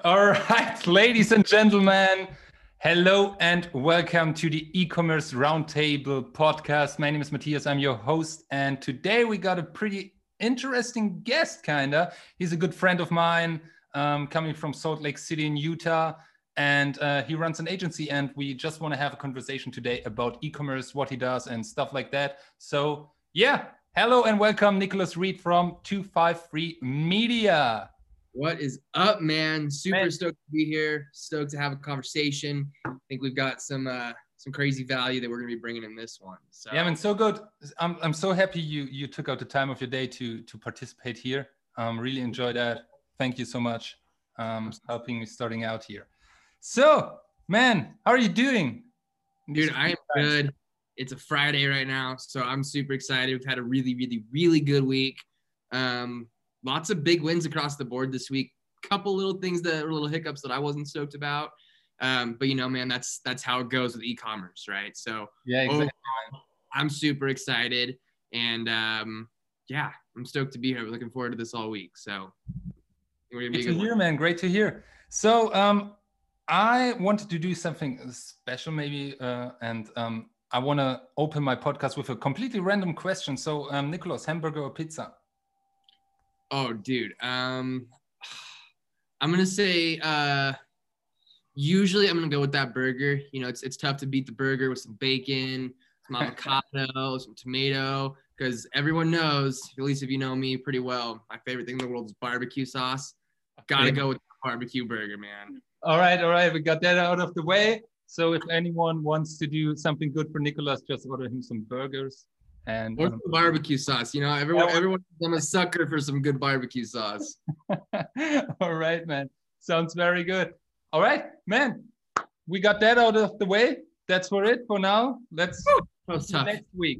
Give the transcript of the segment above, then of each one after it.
All right, ladies and gentlemen, hello and welcome to the e-commerce roundtable podcast. My name is Matthias, I'm your host, and today we got a pretty interesting guest, kinda. He's a good friend of mine, coming from Salt Lake City in Utah, and he runs an agency, and we just want to have a conversation today about e-commerce, what he does, and stuff like that. So yeah, hello and welcome, Nicholas Reed from 253 Media. What is up, man? Super Man. stoked to be here. Stoked to have a conversation. I think we've got some crazy value that we're gonna be bringing in this one. So yeah, man, so good. I'm so happy you took out the time of your day to participate here. Really enjoy that. Thank you so much, helping me starting out here. So, man, how are you doing? dude, I am good. It's a Friday right now, so I'm super excited. We've had a really good week. Lots of big wins across the board this week. Couple little things that were little hiccups that I wasn't stoked about. But you know, man, that's how it goes with e-commerce, right? So Yeah, exactly. I'm super excited, and yeah, I'm stoked to be here. We're looking forward to this all week. So we're gonna be Great to hear, man. Great to hear. So, I wanted to do something special, maybe, and I want to open my podcast with a completely random question. So, Nicholas, hamburger or pizza? Oh, dude. I'm gonna say usually I'm gonna go with that burger. You know, it's tough to beat the burger with some bacon, some avocado, some tomato, because everyone knows, at least if you know me pretty well, my favorite thing in the world is barbecue sauce. Gotta go with the barbecue burger, man. All right. We got that out of the way. So if anyone wants to do something good for Nicholas, just order him some burgers. And Or some barbecue sauce. You know, everyone, I'm a sucker for some good barbecue sauce. all right, man. Sounds very good. All right, man. We got that out of the way. That's for it for now. Let's next week.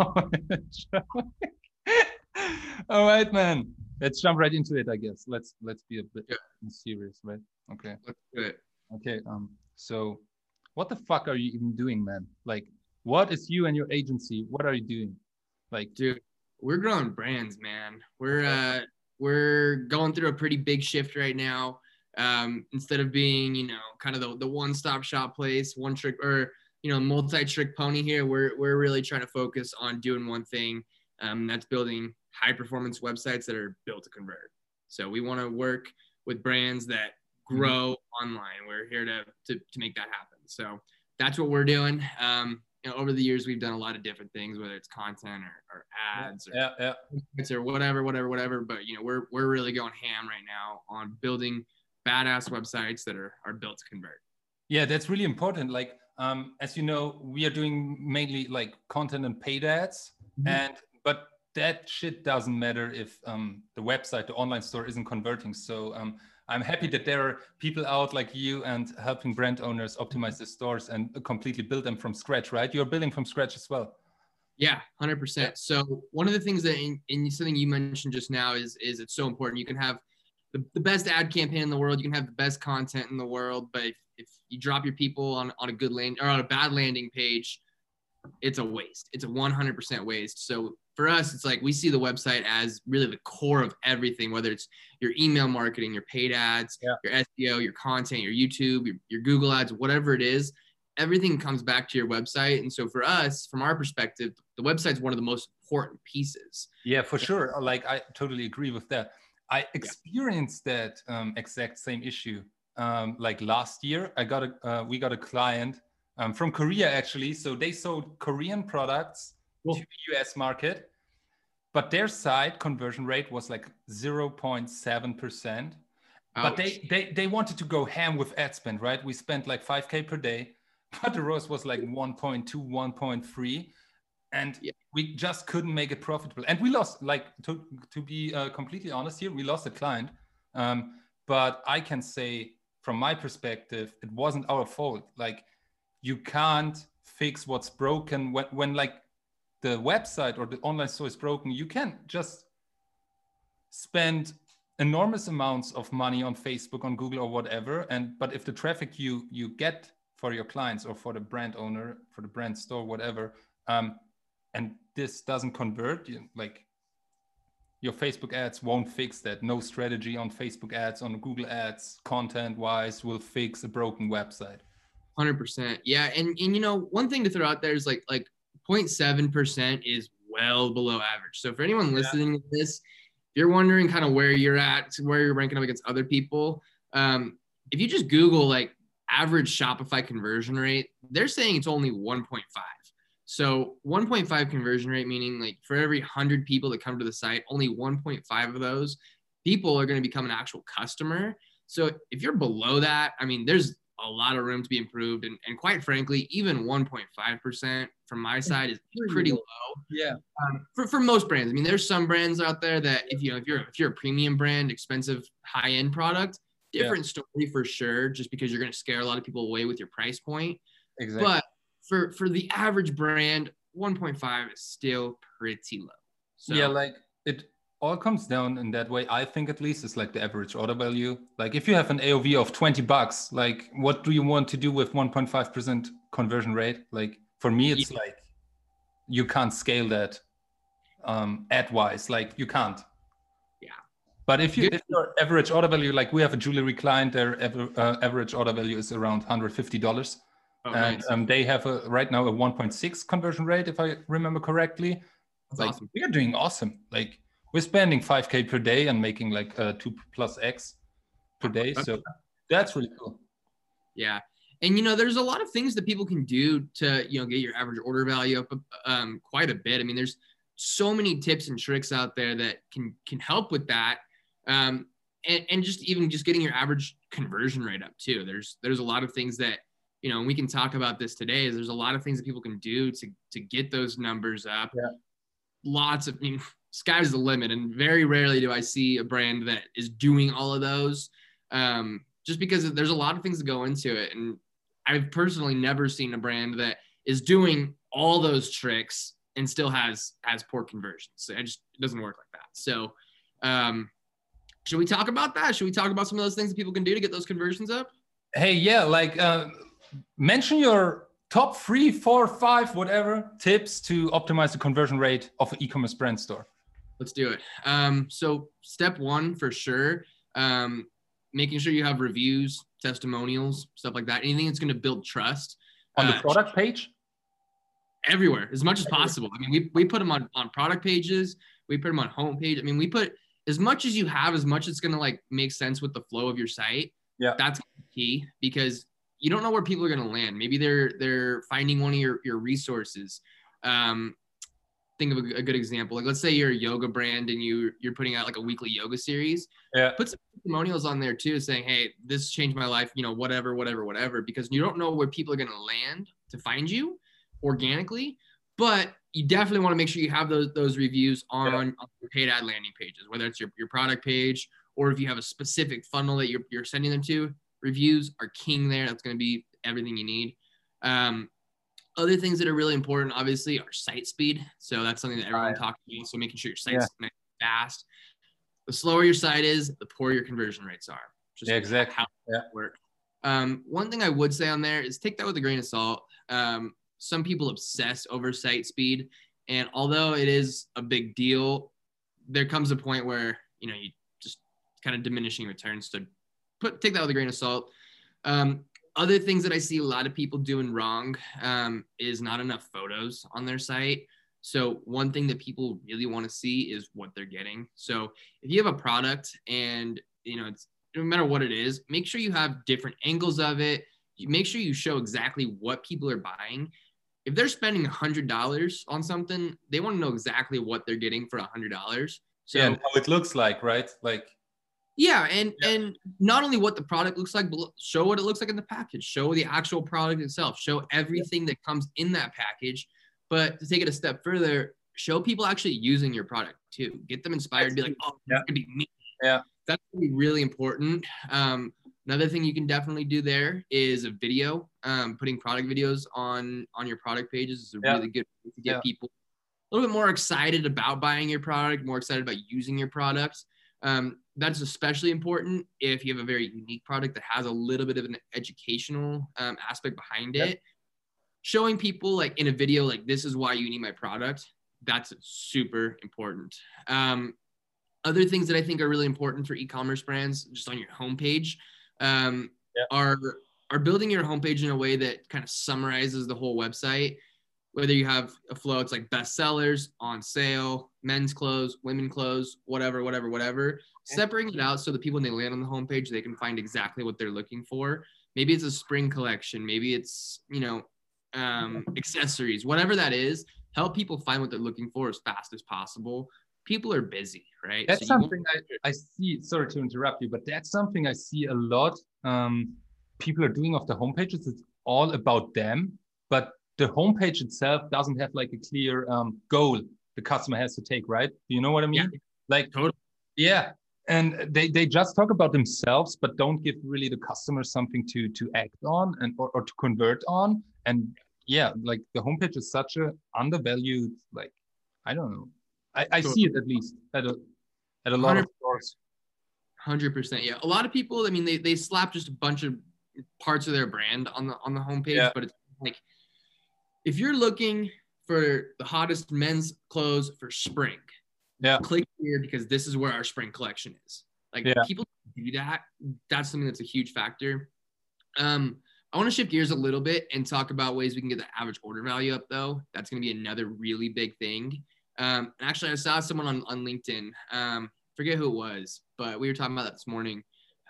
All right, man. Let's jump right into it, I guess. Let's be a bit serious, right? Okay. Let's do it. Okay. So what the fuck are you even doing, man? Like, what is you and your agency? What are you doing? Like, dude, we're growing brands, man. We're going through a pretty big shift right now. Instead of being, you know, kind of the one-stop shop place, one trick or, you know, multi-trick pony here, we're really trying to focus on doing one thing. That's building high-performance websites that are built to convert. So we want to work with brands that grow online. We're here to make that happen. So that's what we're doing. You know, over the years, we've done a lot of different things, whether it's content or ads or whatever. But, you know, we're really going ham right now on building badass websites that are built to convert. Yeah, that's really important. Like, as you know, we are doing mainly like content and paid ads, but that shit doesn't matter if the website, the online store isn't converting. So I'm happy that there are people out like you and helping brand owners optimize the stores and completely build them from scratch, right? You're building from scratch as well. Yeah, 100%. Yeah. So one of the things that in something you mentioned just now is it's so important. You can have the best ad campaign in the world. You can have the best content in the world, but if you drop your people on a good land or on a bad landing page, it's a waste. It's a 100% waste. So for us, it's like we see the website as really the core of everything, whether it's your email marketing, your paid ads, your SEO, your content, your YouTube, your Google ads, whatever it is, everything comes back to your website. And so for us, from our perspective, the website's one of the most important pieces. Yeah, for sure. Like, I totally agree with that. I experienced that exact same issue. Like last year, we got a client from Korea, actually. So they sold Korean products to the US market, but their site conversion rate was like 0.7%. But they wanted to go ham with ad spend, right? We spent like 5K per day, but the ROAS was like 1.2, 1.3. And we just couldn't make it profitable. And we lost, like, to be completely honest here, we lost a client. But I can say from my perspective, it wasn't our fault. Like, you can't fix what's broken when like the website or the online store is broken. You can just spend enormous amounts of money on Facebook, on Google or whatever. But if the traffic you get for your clients or for the brand owner, for the brand store, whatever, and this doesn't convert, like, your Facebook ads won't fix that. No strategy on Facebook ads, on Google ads, content-wise, will fix a broken website. 100%. Yeah. And you know, one thing to throw out there is like 0.7% is well below average. So for anyone listening to this, if you're wondering kind of where you're at, where you're ranking up against other people, if you just Google like average Shopify conversion rate, they're saying it's only 1.5. So 1.5 conversion rate, meaning like for every 100 people that come to the site, only 1.5 of those people are going to become an actual customer. So if you're below that, I mean, there's a lot of room to be improved. And quite frankly, even 1.5% from my side is pretty low. Yeah. For most brands. I mean, there's some brands out there that if you're a premium brand, expensive, high-end product, different story for sure, just because you're going to scare a lot of people away with your price point. Exactly. But for the average brand, 1.5 is still pretty low. So yeah, like it all comes down in that way. I think at least it's like the average order value. Like if you have an AOV of $20, like what do you want to do with 1.5% conversion rate? Like for me, it's like you can't scale that ad wise. Like you can't. Yeah. But if your average order value, like we have a jewelry client, their average order value is around $150. Oh, and nice. They have right now a 1.6 conversion rate, if I remember correctly. That's like awesome. We are doing awesome. Like we're spending 5K per day and making like 2+X per day. So that's really cool. Yeah. And, you know, there's a lot of things that people can do to, you know, get your average order value up quite a bit. I mean, there's so many tips and tricks out there that can help with that. And just even just getting your average conversion rate up too. There's a lot of things that, you know, and we can talk about this today, is there's a lot of things that people can do to get those numbers up. Yeah. Lots of, I mean, sky's the limit. And very rarely do I see a brand that is doing all of those, just because there's a lot of things that go into it. And I've personally never seen a brand that is doing all those tricks and still has poor conversions. It doesn't work like that. So should we talk about that? Should we talk about some of those things that people can do to get those conversions up? Hey, yeah, like mention your top 3, 4, 5, whatever tips to optimize the conversion rate of an e-commerce brand store. Let's do it. So step 1 for sure, making sure you have reviews, testimonials, stuff like that. Anything that's going to build trust. On the product page? Everywhere, as much as possible. I mean, we put them on product pages. We put them on homepage. I mean, we put as much as you have, as much it's going to like make sense with the flow of your site. Yeah. That's key, because you don't know where people are going to land. Maybe they're finding one of your resources. Think of a good example. Like, let's say you're a yoga brand and you're putting out like a weekly yoga series. Yeah. Put some testimonials on there too, saying, hey, this changed my life, you know, whatever, because you don't know where people are going to land to find you organically, but you definitely want to make sure you have those reviews on your paid ad landing pages, whether it's your product page, or if you have a specific funnel that you're sending them to. Reviews are king there. That's going to be everything you need. Other things that are really important, obviously, are site speed. So that's something that everyone talks about. So making sure your site's fast. The slower your site is, the poorer your conversion rates are. Just exactly how it works. One thing I would say on there is take that with a grain of salt. Some people obsess over site speed, and although it is a big deal, there comes a point where, you know, you just kind of diminishing returns. So take that with a grain of salt. Other things that I see a lot of people doing wrong is not enough photos on their site. So one thing that people really want to see is what they're getting. So if you have a product and, you know, it's no matter what it is, make sure you have different angles of it. You make sure you show exactly what people are buying. If they're spending $100 on something, they want to know exactly what they're getting for $100. So and how it looks like, right? Like, yeah, and not only what the product looks like, but show what it looks like in the package. Show the actual product itself. Show everything that comes in that package. But to take it a step further, show people actually using your product too. Get them inspired. Be like, oh, that could be me. Yeah, that's gonna be really important. Another thing you can definitely do there is a video. Putting product videos on your product pages is a really good way to get people a little bit more excited about buying your product, more excited about using your products. That's especially important if you have a very unique product that has a little bit of an educational aspect behind it. Showing people like in a video, like, this is why you need my product. That's super important. Other things that I think are really important for e-commerce brands, just on your homepage, are building your homepage in a way that kind of summarizes the whole website. Whether you have a flow, it's like best sellers, on sale, men's clothes, women clothes, whatever. Separating it out so that people, when they land on the homepage, they can find exactly what they're looking for. Maybe it's a spring collection. Maybe it's, accessories, whatever that is. Help people find what they're looking for as fast as possible. People are busy, right? That's something I see. Sorry to interrupt you, but that's something I see a lot. People are doing off the homepages. It's all about them, but the homepage itself doesn't have like a clear goal the customer has to take, right? Do you know what I mean? Yeah, like, totally. Yeah. And they just talk about themselves, but don't give really the customer something to act on and or to convert on. And yeah, like the homepage is such a undervalued, like, I don't know. I see it at least at a lot of stores. 100%. Yeah. A lot of people, I mean, they slap just a bunch of parts of their brand on the homepage, but it's like, if you're looking for the hottest men's clothes for spring, click here because this is where our spring collection is. Like people do that. That's something that's a huge factor. I want to shift gears a little bit and talk about ways we can get the average order value up, though. That's going to be another really big thing. And actually, I saw someone on LinkedIn. Forget who it was, but we were talking about that this morning.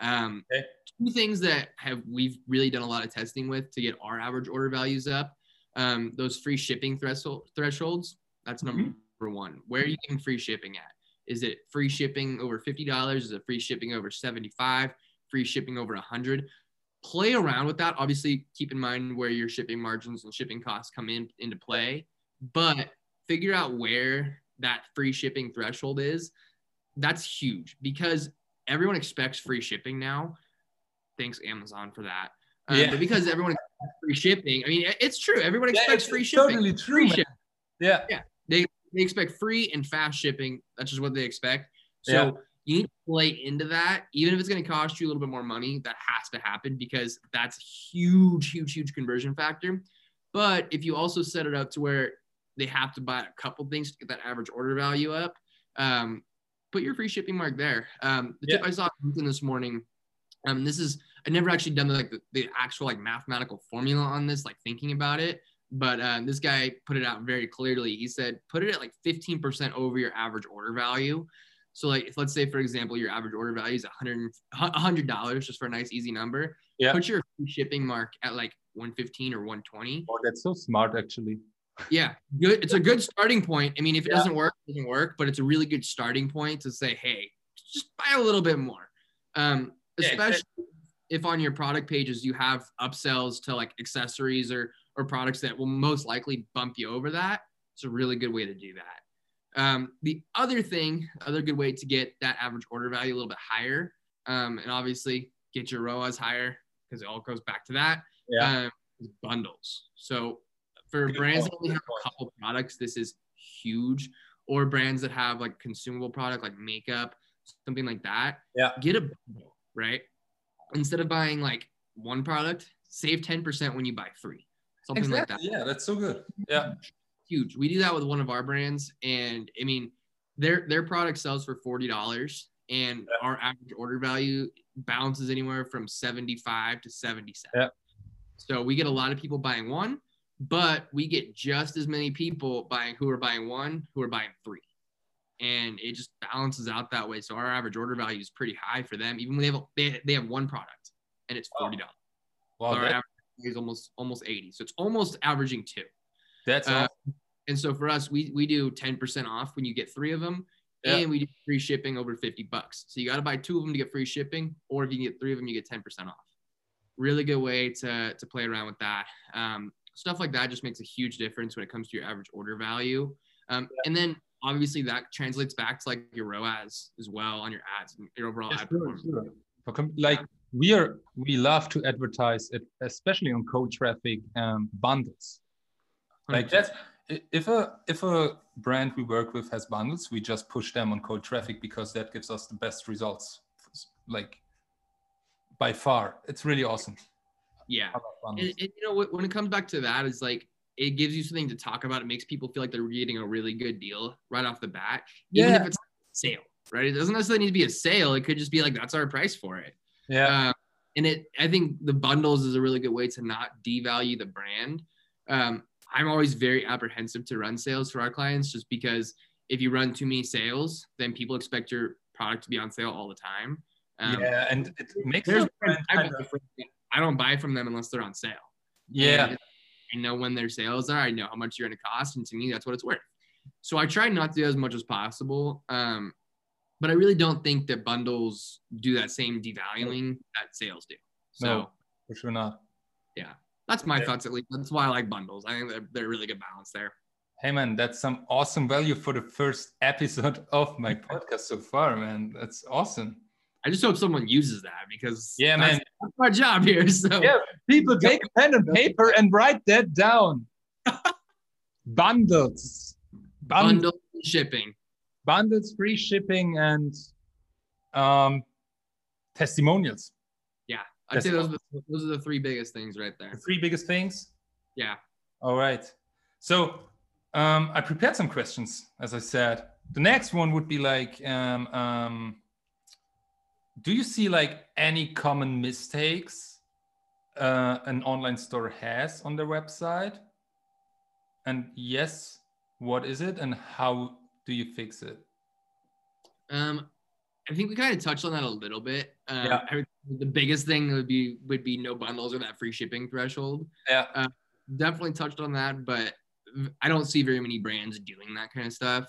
Two things that we've really done a lot of testing with to get our average order values up. Those free shipping thresholds. That's number one. Where are you getting free shipping at? Is it free shipping over $50? Is it free shipping over $75? Free shipping over $100? Play around with that. Obviously, keep in mind where your shipping margins and shipping costs come into play, but figure out where that free shipping threshold is. That's huge because everyone expects free shipping now. Thanks, Amazon, for that. But because everyone expects free shipping, I mean, it's true. Everyone expects free shipping. Totally true. Yeah. They expect free and fast shipping. That's just what they expect. So you need to play into that. Even if it's going to cost you a little bit more money, that has to happen because that's a huge conversion factor. But if you also set it up to where they have to buy a couple things to get that average order value up, put your free shipping mark there. The tip I saw this morning, I never actually done the actual mathematical formula on this, thinking about it. But this guy put it out very clearly. He said, put it at 15% over your average order value. So if let's say, for example, your average order value is $100, just for a nice, easy number. Yeah. Put your free shipping mark at $115 or $120. Oh, that's so smart, actually. Yeah, good. It's a good starting point. I mean, if it doesn't work, it doesn't work, but it's a really good starting point to say, hey, just buy a little bit more. Especially if on your product pages you have upsells to accessories or products that will most likely bump you over that. It's a really good way to do that. The other good way to get that average order value a little bit higher, and obviously get your ROAS higher because it all goes back to that, is bundles. So for brands that only have a couple products, this is huge. Or brands that have consumable product like makeup, something like that. Yeah. Get a bundle, right? Instead of buying one product, save 10% when you buy 3. Something like that. Yeah, that's so good. Yeah. Huge. We do that with one of our brands, and I mean, their product sells for $40, and our average order value bounces anywhere from 75 to 77. Yeah. So we get a lot of people buying one, but we get just as many people who are buying one who are buying 3, and it just balances out that way. So our average order value is pretty high for them, even when they have one product and it's $40. Wow. So our average is almost 80. So it's almost averaging 2. That's awesome. And so for us, we do 10% off when you get 3 of them, and we do free shipping over $50. So you got to buy 2 of them to get free shipping, or if you can get 3 of them, you get 10% off. Really good way to play around with that. Stuff like that just makes a huge difference when it comes to your average order value. And then obviously that translates back to your ROAS as well on your ads and your overall ad performance. Sure. We love to advertise it, especially on cold traffic bundles. 100%. That's if a brand we work with has bundles, we just push them on cold traffic because that gives us the best results. By far, it's really awesome. Yeah, and when it comes back to that, is it gives you something to talk about. It makes people feel like they're getting a really good deal right off the bat, even if it's sale. right? It doesn't necessarily need to be a sale. It could just be like, that's our price for it. Yeah. And I think the bundles is a really good way to not devalue the brand. I'm always very apprehensive to run sales for our clients, just because if you run too many sales, then people expect your product to be on sale all the time. Yeah, and it makes I don't buy from them unless they're on sale. Yeah. And I know when their sales are, I know how much you're going to cost. And to me, that's what it's worth. So I try not to do as much as possible. But I really don't think that bundles do that same devaluing that sales do. So no, for sure not. Yeah, that's my thoughts at least. That's why I like bundles. I think they're a really good balance there. Hey man, that's some awesome value for the first episode of my podcast so far, man. That's awesome. I just hope someone uses that, because man, that's my job here. So yeah, people take pen and paper and write that down. Bundles shipping. Bundles, free shipping, and testimonials. Yeah, I'd say those are the three biggest things right there. The three biggest things? Yeah. All right. So I prepared some questions, as I said. The next one would be like, do you see like any common mistakes an online store has on their website? And yes, what is it and how do you fix it? I think we kind of touched on that a little bit. The biggest thing would be no bundles or that free shipping threshold. Yeah. Definitely touched on that, but I don't see very many brands doing that kind of stuff.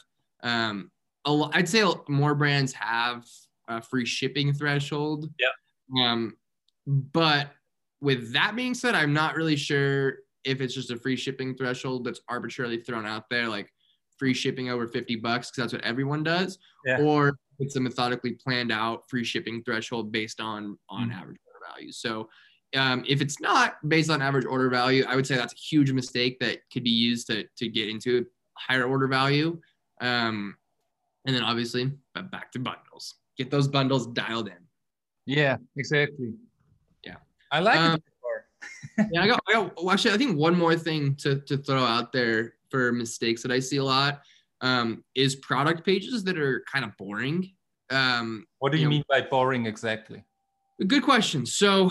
I'd say more brands have a free shipping threshold. Yeah. But with that being said, I'm not really sure if it's just a free shipping threshold that's arbitrarily thrown out there, like free shipping over $50, because that's what everyone does, or it's a methodically planned out free shipping threshold based on average order value. So if it's not based on average order value, I would say that's a huge mistake that could be used to get into a higher order value. And then obviously back to bundles. Get those bundles dialed in. Yeah, exactly. Yeah. I like it. Yeah, I got actually, I think one more thing to throw out there for mistakes that I see a lot is product pages that are kind of boring. What do you mean by boring exactly? Good question. So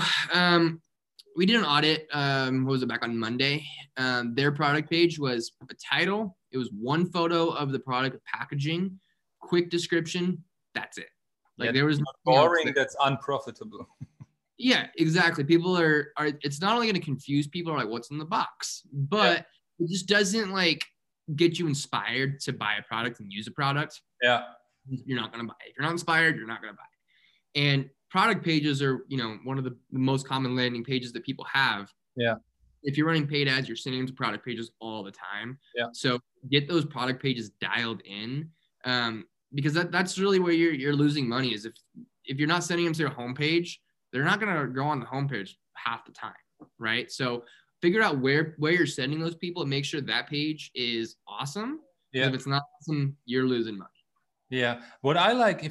we did an audit, what was it, back on Monday. Their product page was a title. It was one photo of the product packaging, quick description. That's it. Like there was boring. That's unprofitable. Yeah, exactly. People are it's not only going to confuse people, like what's in the box, but it just doesn't like get you inspired to buy a product and use a product. Yeah. You're not going to buy it. If you're not inspired, you're not going to buy it. And product pages are, one of the most common landing pages that people have. Yeah. If you're running paid ads, you're sending them to product pages all the time. Yeah. So get those product pages dialed in, because that's really where you're losing money is if you're not sending them to your homepage, they're not going to go on the homepage half the time, right? So figure out where you're sending those people and make sure that page is awesome. Yeah. If it's not awesome, you're losing money. Yeah. What I like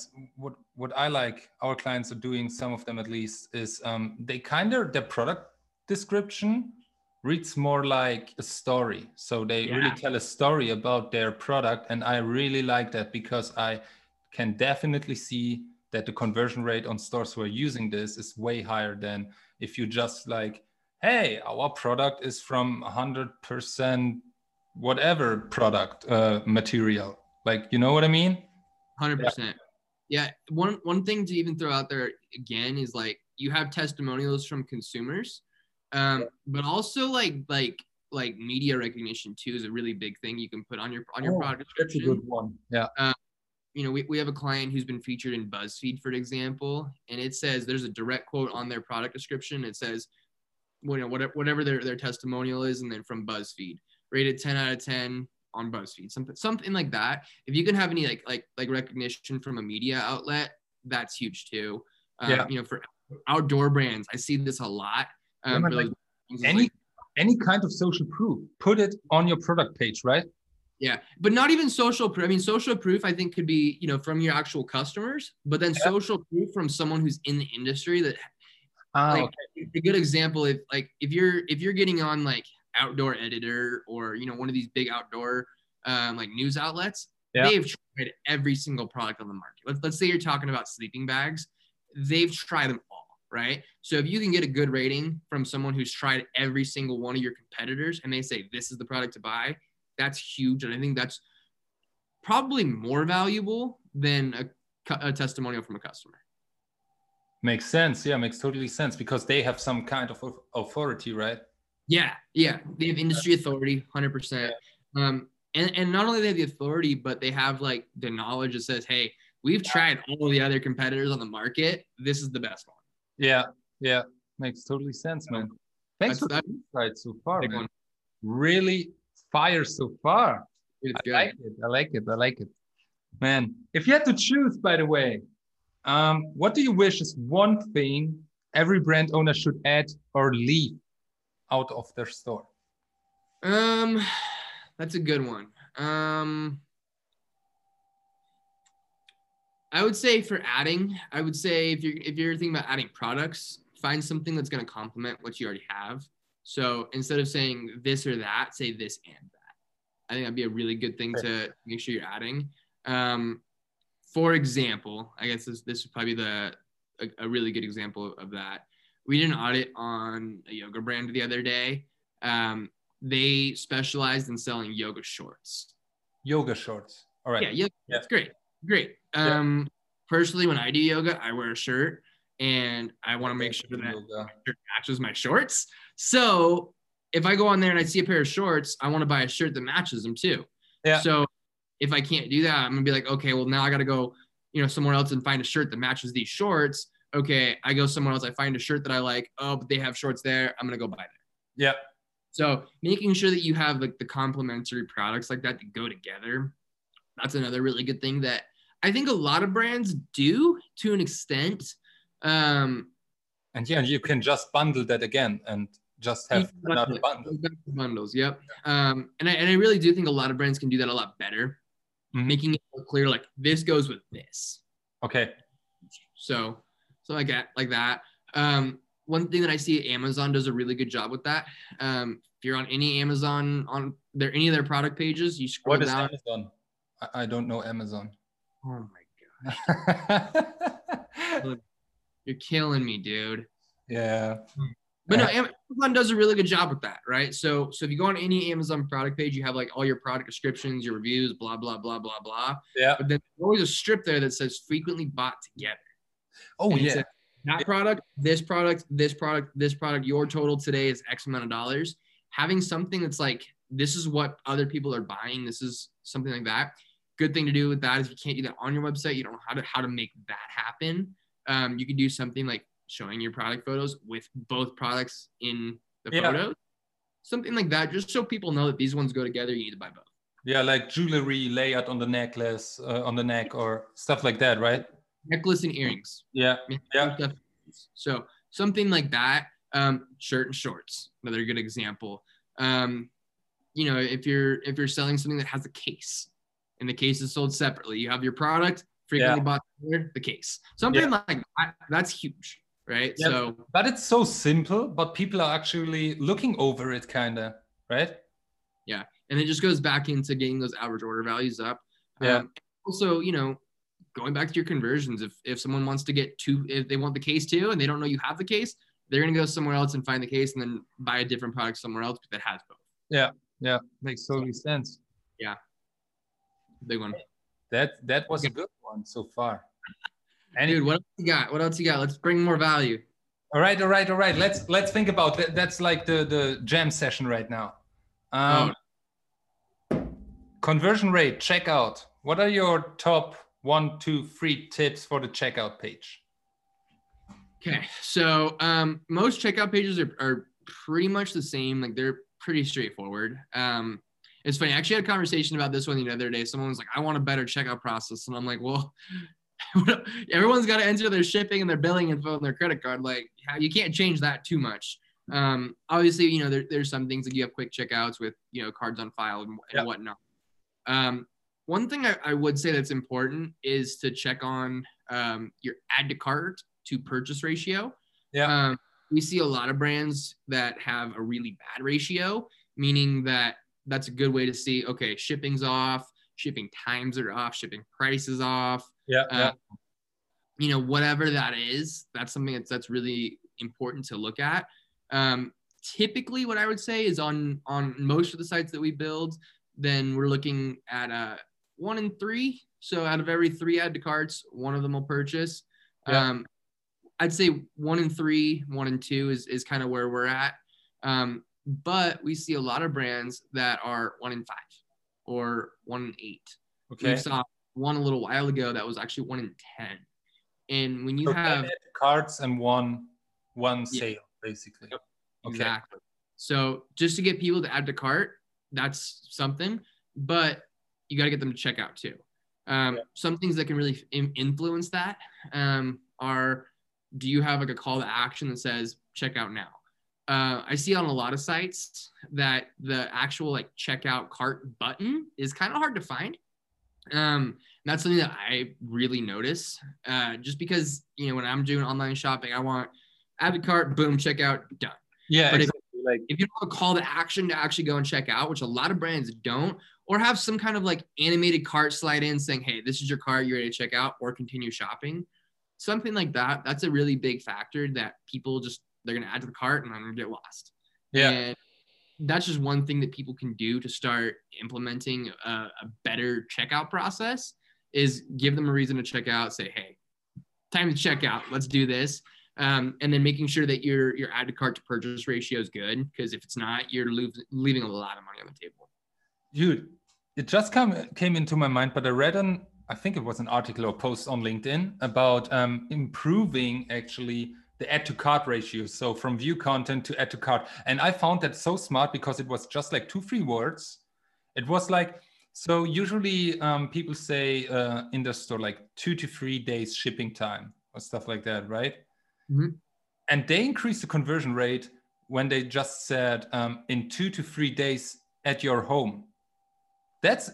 what I like our clients are doing, some of them at least, is their product description reads more like a story. So they really tell a story about their product. And I really like that because I can definitely see that the conversion rate on stores who are using this is way higher than if you just like, hey, our product is from 100% whatever product material. Like, you know what I mean? 100%. Yeah. One thing to even throw out there again is like you have testimonials from consumers, but also like media recognition too is a really big thing you can put on your product description. That's a good one. Yeah. We have a client who's been featured in BuzzFeed, for example, and it says there's a direct quote on their product description. It says, whatever their testimonial is, and then from BuzzFeed, rated 10 out of 10 on BuzzFeed, something like that. If you can have any like recognition from a media outlet, that's huge too. For outdoor brands, I see this a lot. Any kind of social proof, put it on your product page, right? Yeah, but not even social proof. I mean, social proof I think could be, from your actual customers, but then social proof from someone who's in the industry that, a good example, if you're getting on like Outdoor Editor or, one of these big outdoor like news outlets, they've tried tried every single product on the market. Let's say you're talking about sleeping bags. They've tried them all, right? So if you can get a good rating from someone who's tried every single one of your competitors and they say, this is the product to buy, that's huge. And I think that's probably more valuable than a testimonial from a customer. Makes sense. Yeah, makes totally sense because they have some kind of authority, right? Yeah. They have industry authority, 100%. And not only do they have the authority, but they have like the knowledge that says, hey, we've tried all the other competitors on the market. This is the best one. Yeah. Makes totally sense, man. Thanks for the insight so far, man. Really fire so far. I like it. Man, if you had to choose, by the way, what do you wish is one thing every brand owner should add or leave out of their store? That's a good one. I would say for adding, if you're thinking about adding products, find something that's going to complement what you already have. So instead of saying this or that, say this and that. I think that'd be a really good thing to make sure you're adding. For example, I guess this would probably be a really good example of that. We did an audit on a yoga brand the other day. They specialized in selling yoga shorts. Yoga shorts. All right. Yeah. That's great. Personally, when I do yoga, I wear a shirt and I want to make sure that my shirt matches my shorts. So if I go on there and I see a pair of shorts, I want to buy a shirt that matches them too. Yeah. So if I can't do that, I'm gonna be like, okay, well now I got to go, somewhere else and find a shirt that matches these shorts. Okay, I go somewhere else, I find a shirt that I like. Oh, but they have shorts there. I'm gonna go buy there. Yeah. So making sure that you have like the complementary products like that to go together. That's another really good thing that I think a lot of brands do to an extent. And you can just bundle that again and just have another bundle. Bundles, yep. And I really do think a lot of brands can do that a lot better, making it clear like this goes with this. Okay. So like that. One thing that I see Amazon does a really good job with that. If you're on any Amazon any of their product pages, you scroll down. What is Amazon? I don't know Amazon. Oh my gosh. You're killing me, dude. Yeah. But no, Amazon does a really good job with that, right? So if you go on any Amazon product page, you have like all your product descriptions, your reviews, blah, blah, blah, blah, blah. Yeah. But then there's always a strip there that says frequently bought together. Oh, and yeah. That product, this product, this product, this product, your total today is X amount of dollars. Having something that's like, this is what other people are buying. This is something like that. Good thing to do with that is you can't do that on your website. You don't know how to make that happen. You can do something like showing your product photos with both products in the photos. Something like that, just so people know that these ones go together. You need to buy both. Yeah, like jewelry layout on the necklace, on the neck, or stuff like that, right? Necklace and earrings. Yeah. So something like that. Shirt and shorts, another good example. If you're selling something that has a case, and the case is sold separately, you have your product frequently bought the case. Something like that, that's huge, right? Yeah. So, but it's so simple, but people are actually looking over it, kind of, right? Yeah, and it just goes back into getting those average order values up. Yeah. Also, going back to your conversions, if someone wants to get if they want the case too, and they don't know you have the case, they're gonna go somewhere else and find the case, and then buy a different product somewhere else that has both. Yeah, makes totally sense. Yeah, big one. That was a good one so far. Dude, what else you got? Let's bring more value. All right. Let's think about that. That's like the jam session right now. Conversion rate, checkout. What are your top 1, 2, 3 tips for the checkout page? Okay, so most checkout pages are pretty much the same. Like they're pretty straightforward. It's funny. I actually had a conversation about this one the other day. Someone was like, I want a better checkout process. And I'm like, well, everyone's got to enter their shipping and their billing info and their credit card. Like you can't change that too much. Obviously, there's some things that you have quick checkouts with, cards on file and whatnot. One thing I would say that's important is to check on your add to cart to purchase ratio. Yeah. We see a lot of brands that have a really bad ratio, meaning that's a good way to see, okay, shipping's off, shipping times are off, shipping prices off. Yeah. Whatever that is, that's something that's really important to look at. Typically, what I would say is on most of the sites that we build, then we're looking at 1 in 3. So out of every 3 add to carts, 1 of them will purchase. Yeah. I'd say 1 in 3, 1 in 2 is kind of where we're at. But we see a lot of brands that are 1 in 5 or 1 in 8. Okay. We saw one a little while ago that was actually 1 in 10. And when you have cards and one sale, basically. Yep, okay. Exactly. So just to get people to add to cart, that's something, but you got to get them to check out too. Some things that can really influence that are, do you have like a call to action that says check out now? I see on a lot of sites that the actual like checkout cart button is kind of hard to find. That's something that I really notice, just because, when I'm doing online shopping, I want add to cart, boom, checkout, done. Yeah. But exactly. if you don't have a call to action to actually go and check out, which a lot of brands don't, or have some kind of like animated cart slide in saying, hey, this is your cart, you're ready to check out or continue shopping. Something like that. That's a really big factor that people they're going to add to the cart and I'm going to get lost. Yeah. And that's just one thing that people can do to start implementing a better checkout process is give them a reason to check out, say, hey, time to check out. Let's do this. And then making sure that your add to cart to purchase ratio is good. Because if it's not, you're leaving a lot of money on the table. Dude, it just came into my mind, but I read I think it was an article or post on LinkedIn about improving actually the add to cart ratio. So from view content to add to cart. And I found that so smart because it was just like 2-3 words. It was like, so usually people say in the store, like 2 to 3 days shipping time or stuff like that, right? Mm-hmm. And they increased the conversion rate when they just said in 2 to 3 days at your home. That's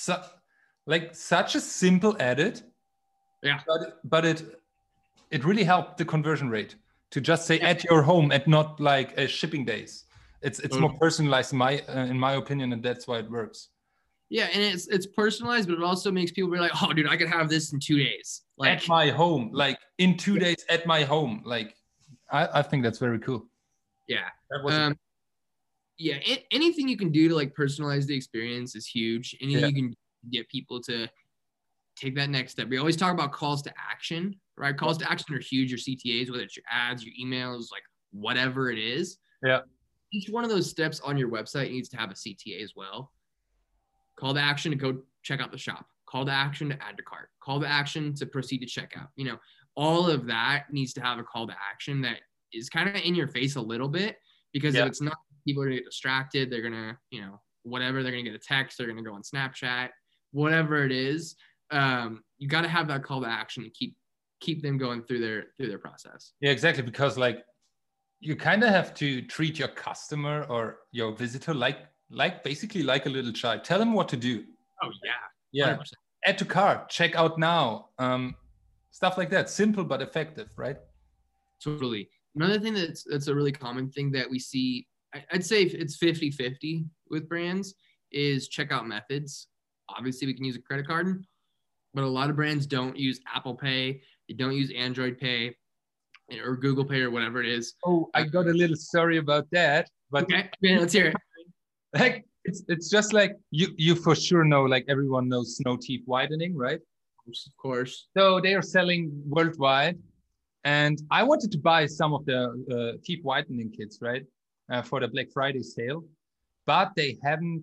such a simple edit. Yeah. But it really helped the conversion rate to just say at your home and not like shipping days. It's more personalized in my opinion, and that's why it works. Yeah, and it's personalized, but it also makes people be like, oh, dude, I could have this in 2 days. Like, at my home, like in 2 days at my home. Like, I think that's very cool. Yeah. That was anything you can do to like personalize the experience is huge. Anything you can get people to take that next step. We always talk about calls to action, right? Calls to action are huge. Your CTAs, whether it's your ads, your emails, like whatever it is. Yeah. Each one of those steps on your website needs to have a CTA as well. Call to action to go check out the shop. Call to action to add to cart. Call to action to proceed to checkout. All of that needs to have a call to action that is kind of in your face a little bit, because if it's not, people are going to get distracted. They're going to, whatever, they're going to get a text. They're going to go on Snapchat, whatever it is. You got to have that call to action to keep them going through their process. Yeah, exactly. Because like you kind of have to treat your customer or your visitor like basically like a little child. Tell them what to do. Oh yeah. 100%. Add to cart, check out now, stuff like that. Simple but effective, right? Totally. Another thing that's a really common thing that we see, I'd say it's 50-50 with brands, is checkout methods. Obviously, we can use a credit card, but a lot of brands don't use Apple Pay. They don't use Android Pay or Google Pay or whatever it is. Oh, I got a little story about that. But okay, let's hear it. Like it's just like you for sure know, like everyone knows Snow Teeth Whitening, right? Of course. So they are selling worldwide, and I wanted to buy some of the teeth whitening kits, right, for the Black Friday sale, but they hadn't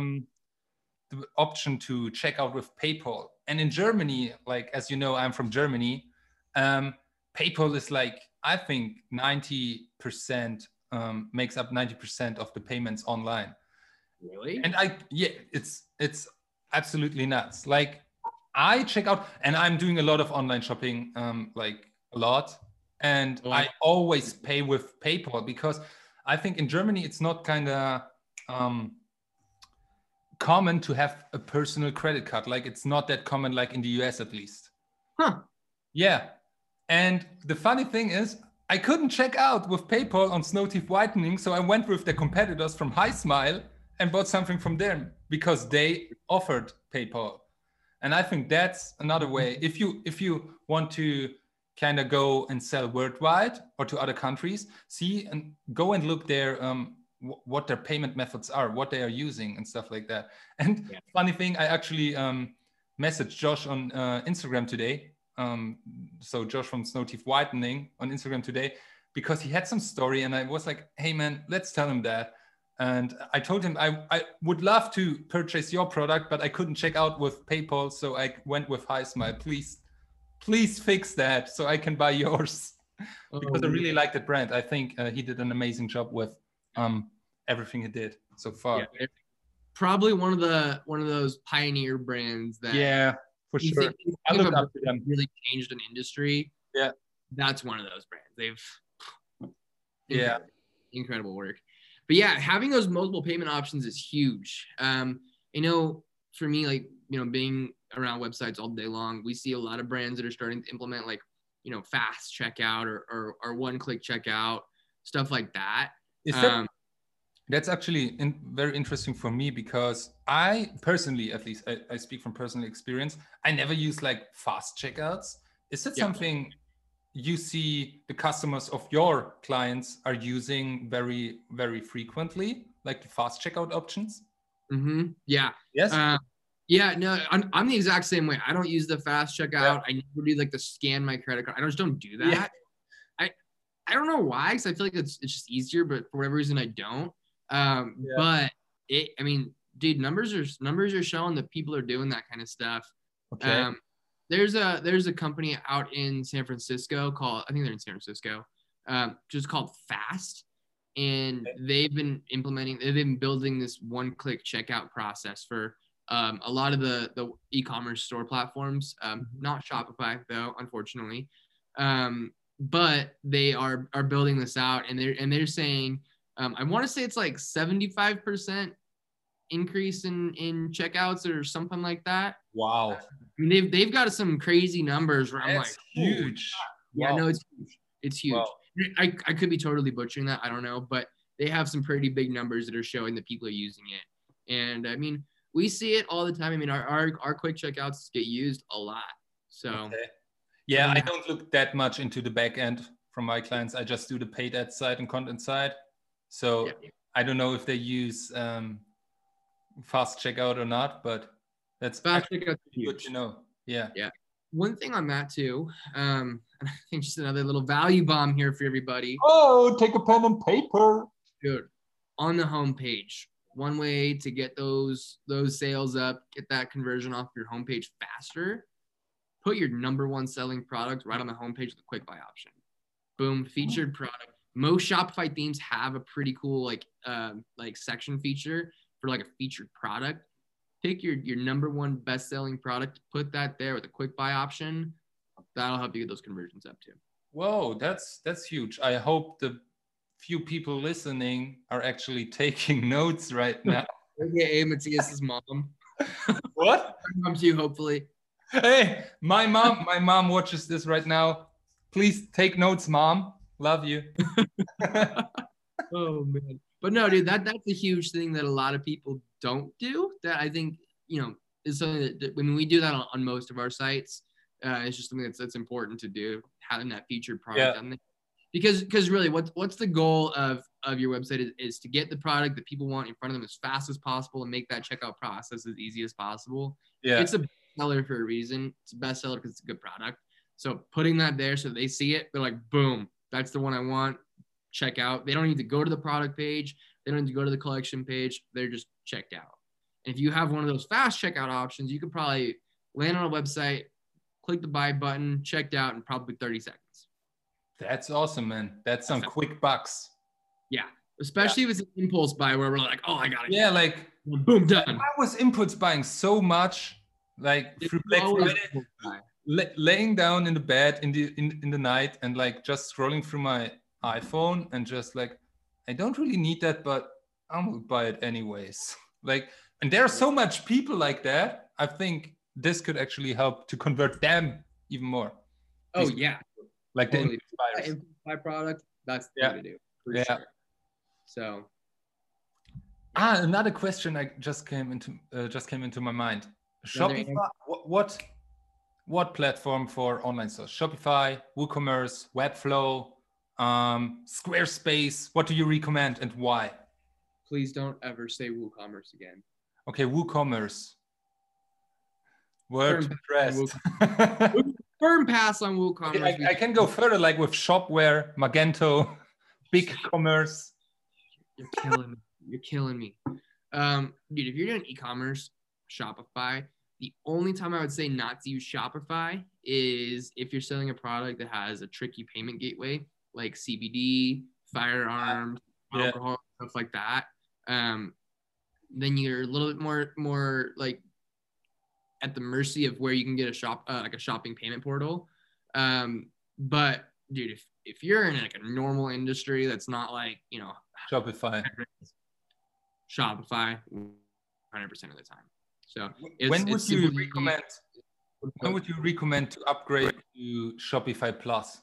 the option to check out with PayPal. And in Germany, like as you know, I'm from Germany. PayPal is like, I think 90% makes up 90% of the payments online. Really? And it's absolutely nuts. Like I check out, and I'm doing a lot of online shopping, like a lot. And I always pay with PayPal because I think in Germany, it's not kind of common to have a personal credit card. Like it's not that common, like in the US at least. Huh. Yeah. And the funny thing is, I couldn't check out with PayPal on Snow Teeth Whitening. So I went with the competitors from HiSmile and bought something from them because they offered PayPal. And I think that's another way. If you want to kind of go and sell worldwide or to other countries, see and go and look their what their payment methods are, what they are using and stuff like that. And funny thing, I actually messaged Josh on Instagram today. So Josh from Snow Teeth Whitening on Instagram today, because he had some story and I was like, hey man, let's tell him that. And I told him I would love to purchase your product, but I couldn't check out with PayPal. So I went with HiSmile. Please fix that so I can buy yours. Because I really like that brand. I think he did an amazing job with everything he did so far. Yeah, probably one of those pioneer brands that for sure. I look up to them. Really changed an industry. Yeah, that's one of those brands. They've incredible work. But yeah, having those multiple payment options is huge. You know, for me, like, you know, being around websites all day long, we see a lot of brands that are starting to implement, like, you know, fast checkout or one-click checkout, stuff like that. That's actually very interesting for me, because I personally, at least I speak from personal experience, I never use like fast checkouts. Is it something you see the customers of your clients are using very, very frequently, like the fast checkout options? Mm-hmm. Yeah. Yes. Yeah, no, I'm the exact same way. I don't use the fast checkout. Yeah. I never do like the scan my credit card. I just don't do that. Yeah. I don't know why, because I feel like it's just easier, but for whatever reason I don't. But I mean, dude, numbers are showing that people are doing that kind of stuff. Okay. There's a company out in San Francisco I think they're in San Francisco, just called Fast. And they've been building this one-click checkout process for a lot of the e-commerce store platforms, not Shopify though, unfortunately. But they are building this out, and they're saying, I want to say it's like 75% increase in checkouts or something like that. Wow. I mean, they've got some crazy numbers where I'm like, huge. Yeah, no, it's huge. It's huge. Wow. I could be totally butchering that. I don't know, but they have some pretty big numbers that are showing that people are using it. And I mean, we see it all the time. I mean, our quick checkouts get used a lot. So yeah, I don't look that much into the back end from my clients. I just do the paid ad side and content side. So I don't know if they use fast checkout or not, but that's fast checkout good to know. Yeah. One thing on that too, and I think just another little value bomb here for everybody. Oh, take a pen and paper. Dude, on the homepage, one way to get those sales up, get that conversion off your homepage faster, put your number one selling product right on the homepage with a quick buy option. Boom, featured product. Most Shopify themes have a pretty cool like section feature for like a featured product. Pick your number one best selling product, put that there with a quick buy option. That'll help you get those conversions up too. Whoa, that's huge. I hope the few people listening are actually taking notes right now. AKA Matthias's mom. What? Mom too, hopefully. Hey, my mom watches this right now. Please take notes, Mom. Love you. Oh man. But no, dude, that's a huge thing that a lot of people don't do. That I think, you know, is something that when we do that on most of our sites, it's just something that's important to do, having that featured product on there. Because really, what's the goal of your website is to get the product that people want in front of them as fast as possible and make that checkout process as easy as possible. Yeah. It's a bestseller for a reason. It's a bestseller because it's a good product. So putting that there so they see it, they're like, boom, that's the one I want. Check out. They don't need to go to the product page. They don't need to go to the collection page. They're just checked out. And if you have one of those fast checkout options, you could probably land on a website, click the buy button, checked out in probably 30 seconds. That's awesome, man. That's some quick bucks. Yeah. Especially if it's an impulse buy where we're like, oh, I got it. Yeah, like boom, done. I was impulse buying so much, like through Black Friday, laying down in the bed in the night and like just scrolling through my iPhone and just like, I don't really need that, but I'm gonna buy it anyways. Like, and there are so much people like that. I think this could actually help to convert them even more. Oh yeah, like totally. The impulse buy product. That's the way to do. For sure. So, another question I just came into my mind. Shopify. What platform for online stores? Shopify, WooCommerce, Webflow, Squarespace. What do you recommend and why? Please don't ever say WooCommerce again. Okay, WooCommerce. Word pressed. Firm pass on WooCommerce. Okay, I can go further, like with Shopware, Magento, BigCommerce. You're killing me. You're killing me. Dude, if you're doing e-commerce, Shopify, the only time I would say not to use Shopify is if you're selling a product that has a tricky payment gateway, like CBD, firearms, alcohol, stuff like that. Then you're a little bit more like at the mercy of where you can get a shopping payment portal. But dude, if you're in like a normal industry that's not like, Shopify 100% of the time. So when would you recommend to upgrade to Shopify Plus?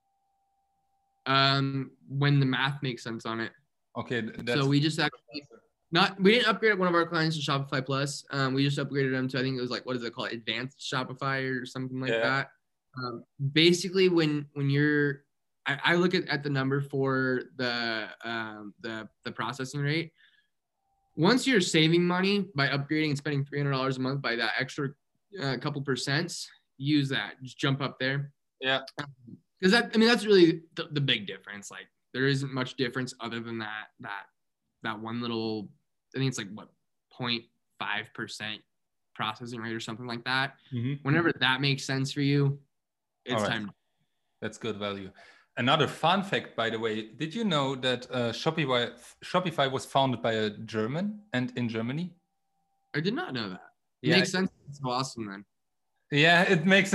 When the math makes sense on it. Okay. So we just actually we didn't upgrade one of our clients to Shopify Plus. We just upgraded them to, I think it was like, what is it called? Advanced Shopify or something like that. Basically when you're, I look at the number for the processing rate. Once you're saving money by upgrading and spending $300 a month by that extra couple percents, use that. Just jump up there. Yeah. Because that's really the big difference. Like there isn't much difference other than that one little, I think it's like 0.5% processing rate or something like that. Mm-hmm. Whenever that makes sense for you, it's time. That's good value. Another fun fact, by the way, did you know that Shopify was founded by a German and in Germany? I did not know that. It makes sense. It's awesome then. Yeah, it makes.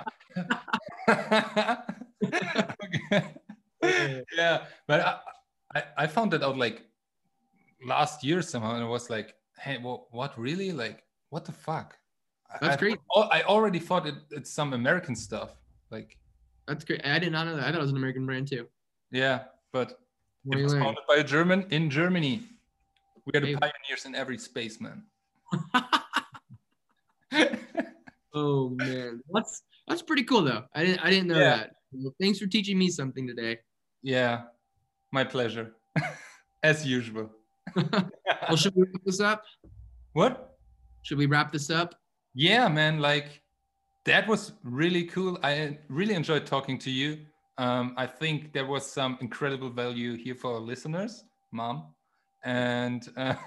Yeah, but I found that out like last year somehow, and I was like, hey, what really? Like, what the fuck? That's great. I already thought it's some American stuff. Like, that's great. I did not know that. I thought it was an American brand too. Yeah, but it was founded by a German in Germany. We are the pioneers in every space, man. Oh man, that's pretty cool though. I didn't know that. Well, thanks for teaching me something today. Yeah, my pleasure. As usual. Well, should we wrap this up? What? Should we wrap this up? Yeah, man. Like, that was really cool. I really enjoyed talking to you. I think there was some incredible value here for our listeners, Mom. And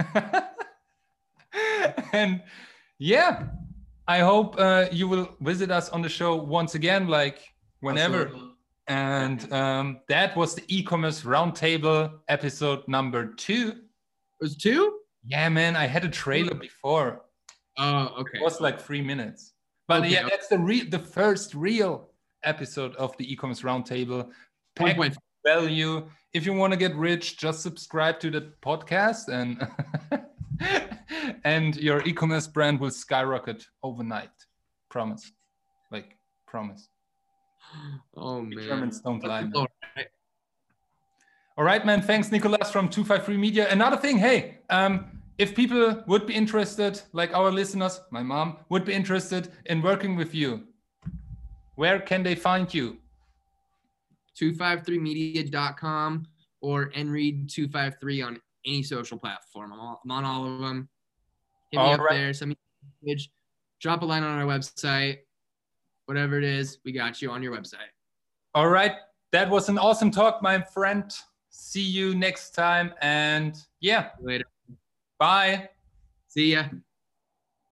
and yeah, I hope you will visit us on the show once again, like whenever. Absolutely. And that was the e-commerce roundtable episode number 2. It was 2? Yeah, man. I had a trailer before. Oh, okay. It was like 3 minutes. But yeah, that's the first real episode of the e-commerce roundtable. Packed value. If you want to get rich, just subscribe to the podcast and and your e-commerce brand will skyrocket overnight. Promise. Like, promise. Oh man. Germans don't lie. All right, man. Thanks, Nicolas from 253 Media. Another thing, hey, if people would be interested, like our listeners, my mom, would be interested in working with you, where can they find you? 253media.com or nread253 on any social platform. I'm on all of them. Hit me up there. Send me a message. Drop a line on our website. Whatever it is, we got you on your website. All right. That was an awesome talk, my friend. See you next time. And yeah. Later. Bye. See ya.